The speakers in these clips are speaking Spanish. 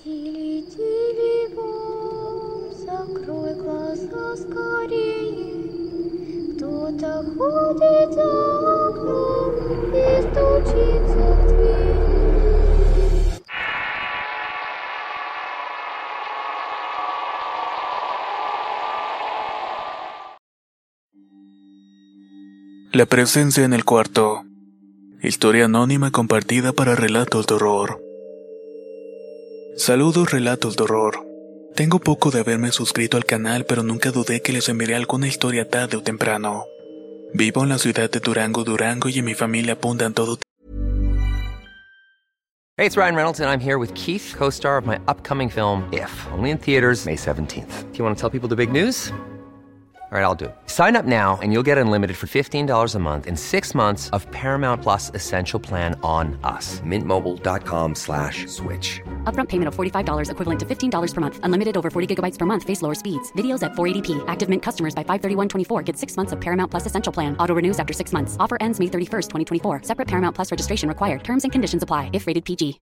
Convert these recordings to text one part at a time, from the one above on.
Тили-тили бом, закрой глаза скорее. Кто-то ходит за окном и стучится в двери. La presencia en el cuarto. Historia anónima compartida para Relatos de Horror. Saludos, Relatos de Horror. Tengo poco de haberme suscrito al canal, pero nunca dudé que les enviaré alguna historia tarde o temprano. Vivo en la ciudad de Durango, y en mi familia apuntan todo. Hey, it's Ryan Reynolds, and I'm here with Keith, co-star of my upcoming film, If, only in theaters May 17th. Do you want to tell people the big news? All right, I'll do it. Sign up now and you'll get unlimited for $15 a month and 6 months of Paramount Plus Essential Plan on us. MintMobile.com/switch. Upfront payment of $45 equivalent to $15 per month. Unlimited over 40 gigabytes per month. Face lower speeds. Videos at 480p. Active Mint customers by 531.24 get 6 months of Paramount Plus Essential Plan. Auto renews after 6 months. Offer ends May 31st, 2024. Separate Paramount Plus registration required. Terms and conditions apply if rated PG.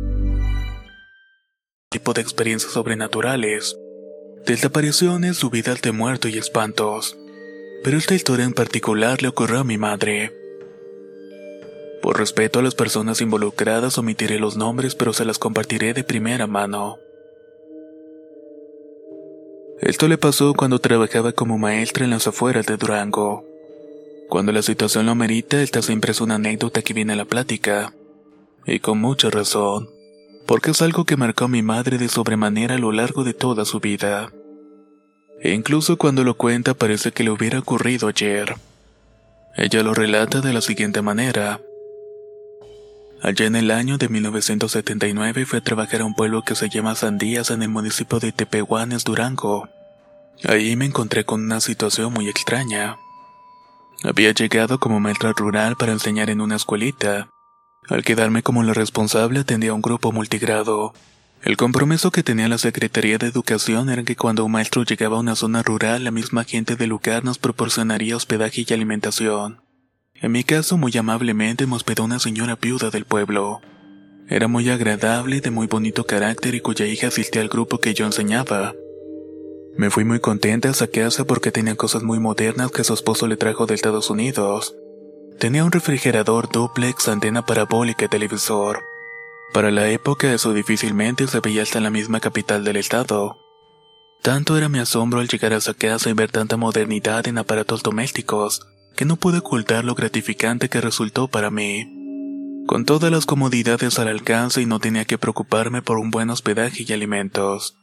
Tipo de experiencias sobrenaturales. Desapariciones, subidas de muerto y espantos. Pero esta historia en particular le ocurrió a mi madre. Por respeto a las personas involucradas omitiré los nombres, pero se las compartiré de primera mano. Esto le pasó cuando trabajaba como maestra en las afueras de Durango. Cuando la situación lo amerita, esta siempre es una anécdota que viene a la plática. Y con mucha razón. Porque es algo que marcó a mi madre de sobremanera a lo largo de toda su vida. E incluso cuando lo cuenta parece que le hubiera ocurrido ayer. Ella lo relata de la siguiente manera. Allá en el año de 1979 fue a trabajar a un pueblo que se llama Sandías en el municipio de Tepehuanes, Durango. Ahí me encontré con una situación muy extraña. Había llegado como maestra rural para enseñar en una escuelita. Al quedarme como la responsable atendía a un grupo multigrado. El compromiso que tenía la Secretaría de Educación era que cuando un maestro llegaba a una zona rural, la misma gente del lugar nos proporcionaría hospedaje y alimentación. En mi caso, muy amablemente me hospedó una señora viuda del pueblo. Era muy agradable, de muy bonito carácter y cuya hija asistía al grupo que yo enseñaba. Me fui muy contenta a esa casa porque tenía cosas muy modernas que su esposo le trajo de Estados Unidos. Tenía un refrigerador dúplex, antena parabólica y televisor. Para la época eso difícilmente se veía hasta en la misma capital del estado. Tanto era mi asombro al llegar a esa casa y ver tanta modernidad en aparatos domésticos, que no pude ocultar lo gratificante que resultó para mí. Con todas las comodidades al alcance y no tenía que preocuparme por un buen hospedaje y alimentos.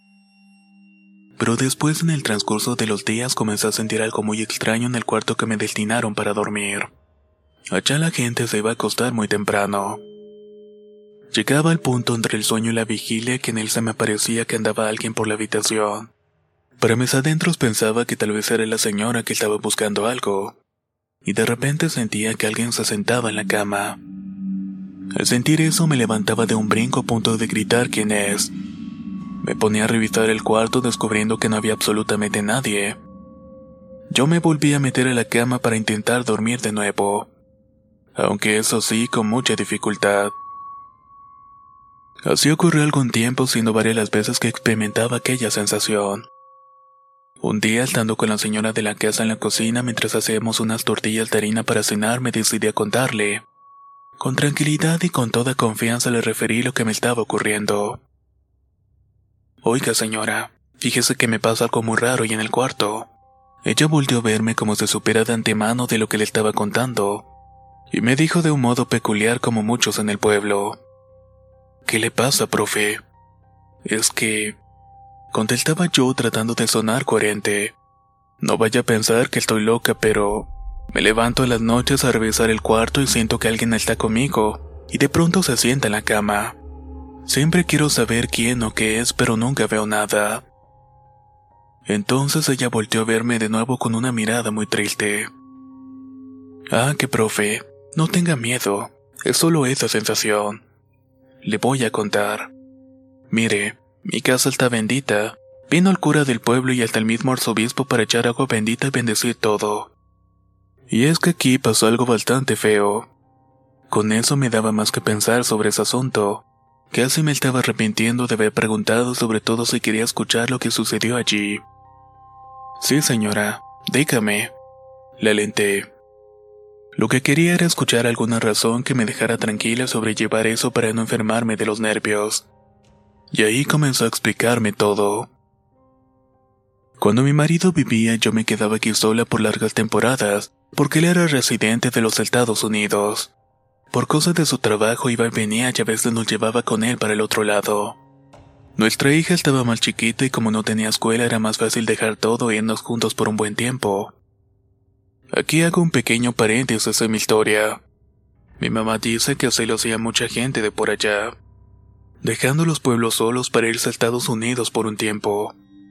Pero después en el transcurso de los días comencé a sentir algo muy extraño en el cuarto que me destinaron para dormir. Allá la gente se iba a acostar muy temprano. Llegaba al punto entre el sueño y la vigilia que en él se me parecía que andaba alguien por la habitación. Para mis adentros pensaba que tal vez era la señora que estaba buscando algo. Y de repente sentía que alguien se sentaba en la cama. Al sentir eso me levantaba de un brinco a punto de gritar quién es. Me ponía a revisar el cuarto descubriendo que no había absolutamente nadie. Yo me volví a meter a la cama para intentar dormir de nuevo. Aunque eso sí, con mucha dificultad. Así ocurrió algún tiempo, siendo varias las veces que experimentaba aquella sensación. Un día, estando con la señora de la casa en la cocina mientras hacíamos unas tortillas de harina para cenar, me decidí a contarle. Con tranquilidad y con toda confianza le referí lo que me estaba ocurriendo. Oiga, señora, fíjese que me pasa algo muy raro y en el cuarto. Ella volvió a verme como si supiera de antemano de lo que le estaba contando. Y me dijo de un modo peculiar como muchos en el pueblo. ¿Qué le pasa, profe? Es que... contestaba yo tratando de sonar coherente. No vaya a pensar que estoy loca, pero... me levanto en las noches a revisar el cuarto y siento que alguien está conmigo, y de pronto se sienta en la cama. Siempre quiero saber quién o qué es, pero nunca veo nada. Entonces ella volteó a verme de nuevo con una mirada muy triste. Ah, que profe, no tenga miedo, es solo esa sensación. Le voy a contar. Mire, mi casa está bendita. Vino el cura del pueblo y hasta el mismo arzobispo para echar agua bendita y bendecir todo. Y es que aquí pasó algo bastante feo. Con eso me daba más que pensar sobre ese asunto. Casi me estaba arrepintiendo de haber preguntado, sobre todo si quería escuchar lo que sucedió allí. Sí, señora, dígame. Le alenté. Lo que quería era escuchar alguna razón que me dejara tranquila sobre llevar eso para no enfermarme de los nervios. Y ahí comenzó a explicarme todo. Cuando mi marido vivía, yo me quedaba aquí sola por largas temporadas, porque él era residente de los Estados Unidos. Por cosas de su trabajo iba y venía y a veces nos llevaba con él para el otro lado. Nuestra hija estaba más chiquita y como no tenía escuela era más fácil dejar todo e irnos juntos por un buen tiempo. Aquí hago un pequeño paréntesis en mi historia. Mi mamá dice que así lo hacía mucha gente de por allá, dejando los pueblos solos para irse a Estados Unidos por un tiempo.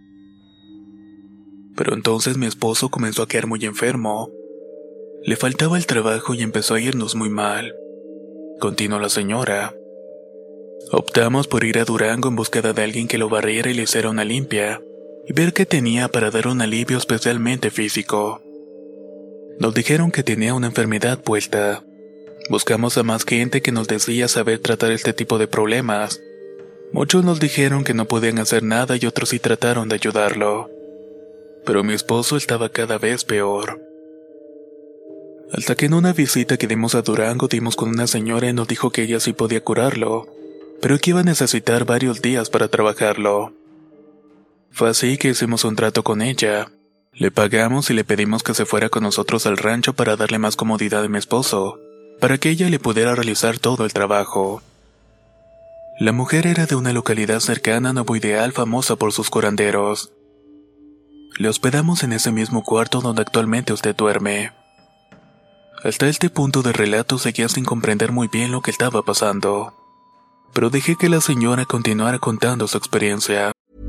Pero entonces mi esposo comenzó a quedar muy enfermo. Le faltaba el trabajo y empezó a irnos muy mal. Continuó la señora. Optamos por ir a Durango en búsqueda de alguien que lo barriera y le hiciera una limpia, y ver qué tenía para dar un alivio especialmente físico. Nos dijeron que tenía una enfermedad puesta. Buscamos a más gente que nos decía saber tratar este tipo de problemas. Muchos nos dijeron que no podían hacer nada y otros sí trataron de ayudarlo. Pero mi esposo estaba cada vez peor. Hasta que en una visita que dimos a Durango dimos con una señora y nos dijo que ella sí podía curarlo, pero que iba a necesitar varios días para trabajarlo. Fue así que hicimos un trato con ella. Le pagamos y le pedimos que se fuera con nosotros al rancho para darle más comodidad a mi esposo, para que ella le pudiera realizar todo el trabajo. La mujer era de una localidad cercana a Nuevo Ideal famosa por sus curanderos. Le hospedamos en ese mismo cuarto donde actualmente usted duerme. Hasta este punto del relato seguía sin comprender muy bien lo que estaba pasando, pero dejé que la señora continuara contando su experiencia.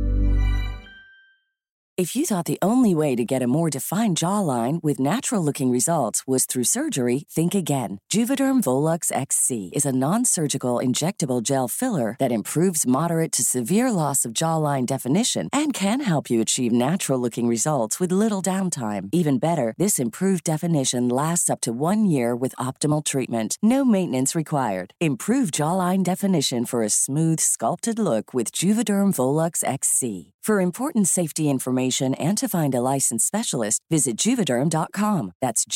If you thought the only way to get a more defined jawline with natural-looking results was through surgery, think again. Juvederm Volux XC is a non-surgical injectable gel filler that improves moderate to severe loss of jawline definition and can help you achieve natural-looking results with little downtime. Even better, this improved definition lasts up to 1 year with optimal treatment. No maintenance required. Improve jawline definition for a smooth, sculpted look with Juvederm Volux XC. For important safety information and to find a licensed specialist, visit Juvederm.com. That's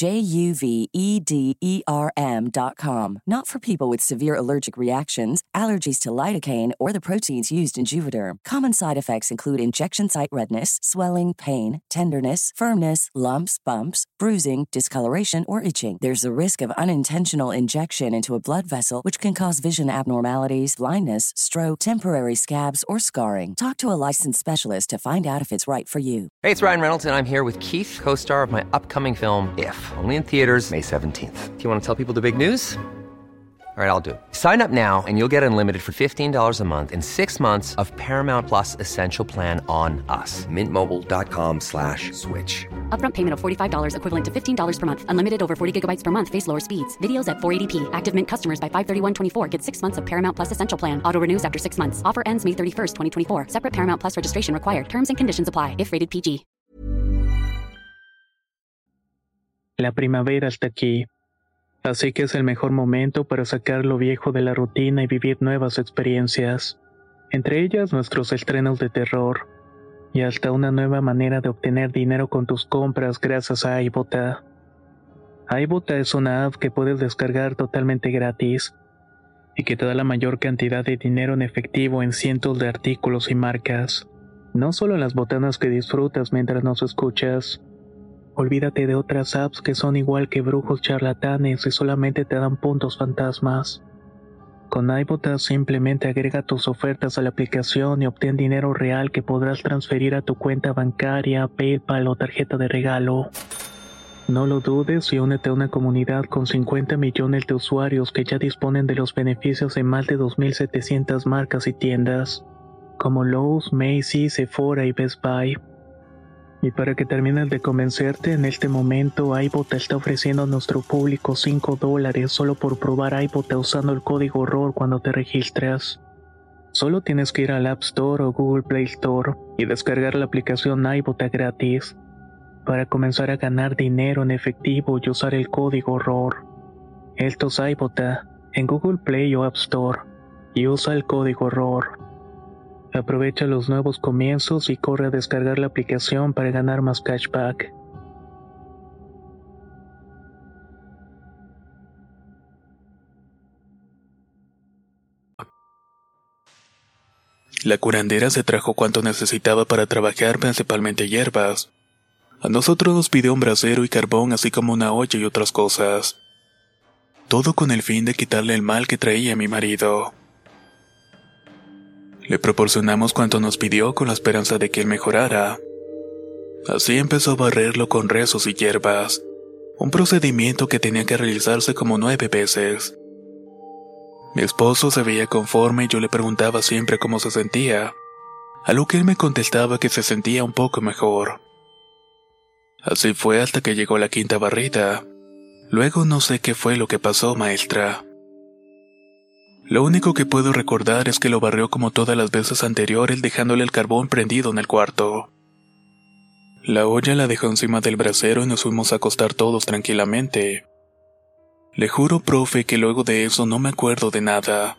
JUVEDERM.com. Not for people with severe allergic reactions, allergies to lidocaine, or the proteins used in Juvederm. Common side effects include injection site redness, swelling, pain, tenderness, firmness, lumps, bumps, bruising, discoloration, or itching. There's a risk of unintentional injection into a blood vessel, which can cause vision abnormalities, blindness, stroke, temporary scabs, or scarring. Talk to a licensed specialist to find out if it's right for you. Hey, it's Ryan Reynolds, and I'm here with Keith, co-star of my upcoming film, If, only in theaters May 17th. Do you want to tell people the big news? All right, I'll do it. Sign up now and you'll get unlimited for $15 a month and 6 months of Paramount Plus Essential Plan on us. MintMobile.com/switch. Upfront payment of $45 equivalent to $15 per month. Unlimited over 40 gigabytes per month. Face lower speeds. Videos at 480p. Active Mint customers by 531.24 get 6 months of Paramount Plus Essential Plan. Auto renews after 6 months. Offer ends May 31st, 2024. Separate Paramount Plus registration required. Terms and conditions apply if rated PG. La primavera está aquí. Así que es el mejor momento para sacar lo viejo de la rutina y vivir nuevas experiencias. Entre ellas nuestros estrenos de terror. Y hasta una nueva manera de obtener dinero con tus compras gracias a iBota. iBota es una app que puedes descargar totalmente gratis y que te da la mayor cantidad de dinero en efectivo en cientos de artículos y marcas. No solo las botanas que disfrutas mientras nos escuchas. Olvídate de otras apps que son igual que brujos charlatanes y solamente te dan puntos fantasmas. Con iBota simplemente agrega tus ofertas a la aplicación y obtén dinero real que podrás transferir a tu cuenta bancaria, PayPal o tarjeta de regalo. No lo dudes y únete a una comunidad con 50 millones de usuarios que ya disponen de los beneficios de más de 2.700 marcas y tiendas, como Lowe's, Macy's, Sephora y Best Buy. Y para que termines de convencerte, en este momento iBota está ofreciendo a nuestro público $5 solo por probar iBota usando el código ROR cuando te registras. Solo tienes que ir al App Store o Google Play Store y descargar la aplicación iBota gratis para comenzar a ganar dinero en efectivo y usar el código ROR. Esto es iBota en Google Play o App Store. y usa el código HORROR. Aprovecha los nuevos comienzos y corre a descargar la aplicación para ganar más cashback. La curandera se trajo cuanto necesitaba para trabajar, principalmente hierbas. A nosotros nos pidió un brasero y carbón, así como una olla y otras cosas. Todo con el fin de quitarle el mal que traía mi marido. Le proporcionamos cuanto nos pidió con la esperanza de que él mejorara. Así empezó a barrerlo con rezos y hierbas, un procedimiento que tenía que realizarse como 9 veces. Mi esposo se veía conforme y yo le preguntaba siempre cómo se sentía, a lo que él me contestaba que se sentía un poco mejor. Así fue hasta que llegó la 5ª barrida. Luego no sé qué fue lo que pasó, maestra. Lo único que puedo recordar es que lo barrió como todas las veces anteriores, dejándole el carbón prendido en el cuarto. La olla la dejó encima del brasero y nos fuimos a acostar todos tranquilamente. Le juro, profe, que luego de eso no me acuerdo de nada.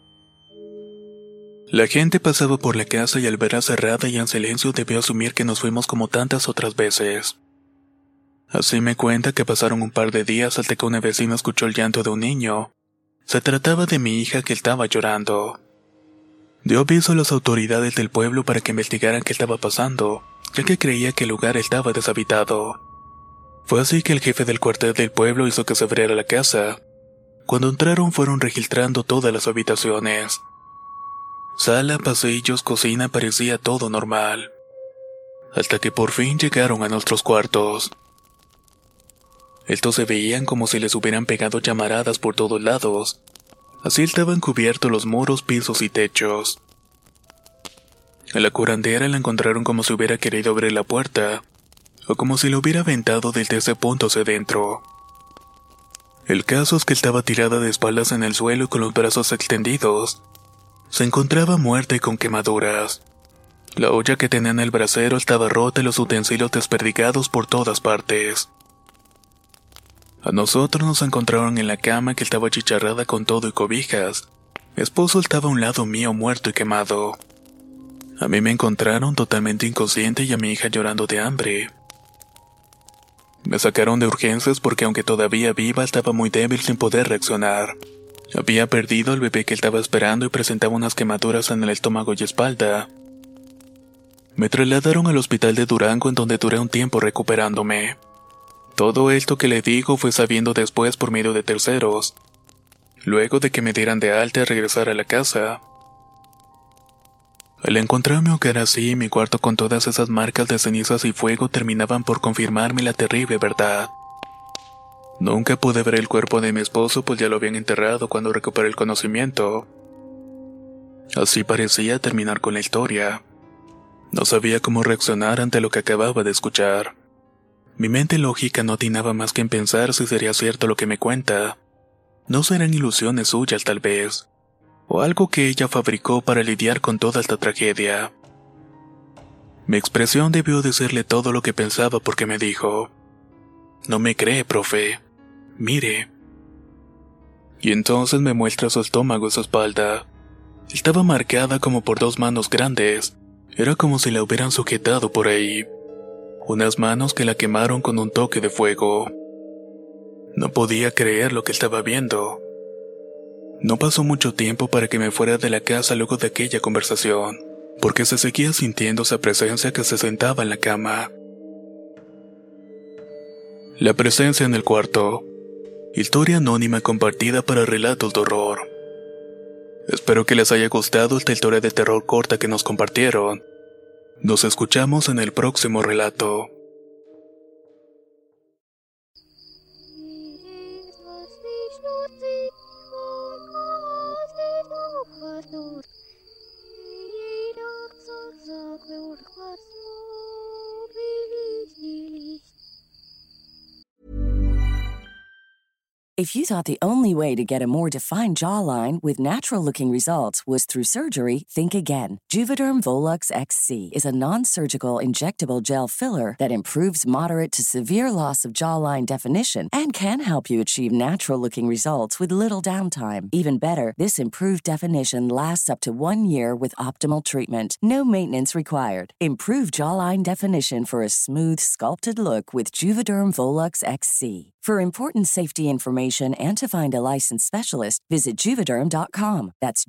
La gente pasaba por la casa y al verla cerrada y en silencio debió asumir que nos fuimos como tantas otras veces. Así me cuenta que pasaron un par de días hasta que una vecina escuchó el llanto de un niño. Se trataba de mi hija que estaba llorando. Dio aviso a las autoridades del pueblo para que investigaran qué estaba pasando, ya que creía que el lugar estaba deshabitado. Fue así que el jefe del cuartel del pueblo hizo que se abriera la casa. Cuando entraron fueron registrando todas las habitaciones. Sala, pasillos, cocina, parecía todo normal. Hasta que por fin llegaron a nuestros cuartos. Estos se veían como si les hubieran pegado llamaradas por todos lados. Así estaban cubiertos los muros, pisos y techos. A la curandera la encontraron como si hubiera querido abrir la puerta, o como si lo hubiera aventado desde ese punto hacia adentro. El caso es que estaba tirada de espaldas en el suelo y con los brazos extendidos. Se encontraba muerta y con quemaduras. La olla que tenía en el brasero estaba rota y los utensilios desperdigados por todas partes. A nosotros nos encontraron en la cama que estaba achicharrada con todo y cobijas. Mi esposo estaba a un lado mío muerto y quemado. A mí me encontraron totalmente inconsciente y a mi hija llorando de hambre. Me sacaron de urgencias porque aunque todavía viva estaba muy débil sin poder reaccionar. Había perdido al bebé que estaba esperando y presentaba unas quemaduras en el estómago y espalda. Me trasladaron al hospital de Durango en donde duré un tiempo recuperándome. Todo esto que le digo fue sabiendo después por medio de terceros. Luego de que me dieran de alta y regresar a la casa. Al encontrar mi hogar así, mi cuarto con todas esas marcas de cenizas y fuego terminaban por confirmarme la terrible verdad. Nunca pude ver el cuerpo de mi esposo pues ya lo habían enterrado cuando recuperé el conocimiento. Así parecía terminar con la historia. No sabía cómo reaccionar ante lo que acababa de escuchar. Mi mente lógica no atinaba más que en pensar si sería cierto lo que me cuenta. No serán ilusiones suyas tal vez, o algo que ella fabricó para lidiar con toda esta tragedia. Mi expresión debió decirle todo lo que pensaba porque me dijo: «No me cree, profe. Mire». Y entonces me muestra su estómago y su espalda. Estaba marcada como por 2 manos grandes. Era como si la hubieran sujetado por ahí. Unas manos que la quemaron con un toque de fuego. No podía creer lo que estaba viendo. No pasó mucho tiempo para que me fuera de la casa luego de aquella conversación, porque se seguía sintiendo esa presencia que se sentaba en la cama. La presencia en el cuarto. Historia anónima compartida para relatos de horror. Espero que les haya gustado esta historia de terror corta que nos compartieron. Nos escuchamos en el próximo relato. If you thought the only way to get a more defined jawline with natural-looking results was through surgery, think again. Juvederm Volux XC is a non-surgical injectable gel filler that improves moderate to severe loss of jawline definition and can help you achieve natural-looking results with little downtime. Even better, this improved definition lasts up to 1 year with optimal treatment. No maintenance required. Improve jawline definition for a smooth, sculpted look with Juvederm Volux XC. For important safety information and to find a licensed specialist, visit Juvederm.com. That's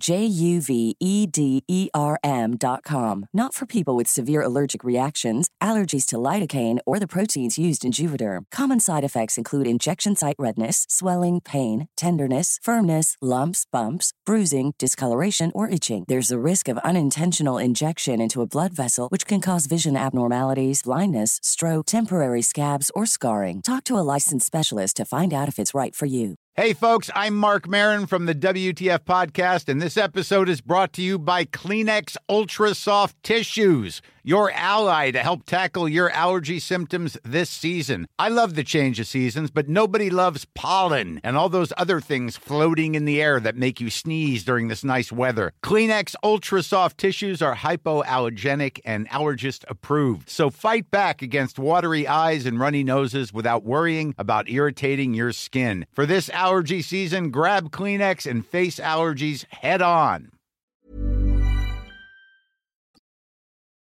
JUVEDERM.com. Not for people with severe allergic reactions, allergies to lidocaine, or the proteins used in Juvederm. Common side effects include injection site redness, swelling, pain, tenderness, firmness, lumps, bumps, bruising, discoloration, or itching. There's a risk of unintentional injection into a blood vessel, which can cause vision abnormalities, blindness, stroke, temporary scabs, or scarring. Talk to a licensed specialist to find out if it's right for you. Hey folks, I'm Mark Marin from the WTF Podcast, and this episode is brought to you by Kleenex Ultra Soft Tissues, your ally to help tackle your allergy symptoms this season. I love the change of seasons, but nobody loves pollen and all those other things floating in the air that make you sneeze during this nice weather. Kleenex Ultra Soft Tissues are hypoallergenic and allergist approved, so fight back against watery eyes and runny noses without worrying about irritating your skin. For this allergy season, grab Kleenex and face allergies head on.